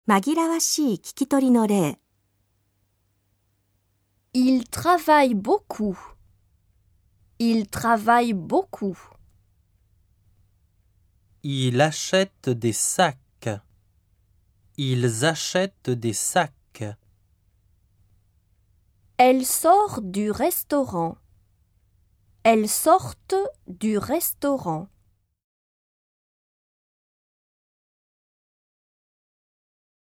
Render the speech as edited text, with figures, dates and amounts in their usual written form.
紛らわしい聞き取りの例。 Il travaille beaucoup. Il travaille beaucoup. Il achète des sacs. Ils achètent des sacs. Elle sort du restaurant. Elles sortent du restaurant.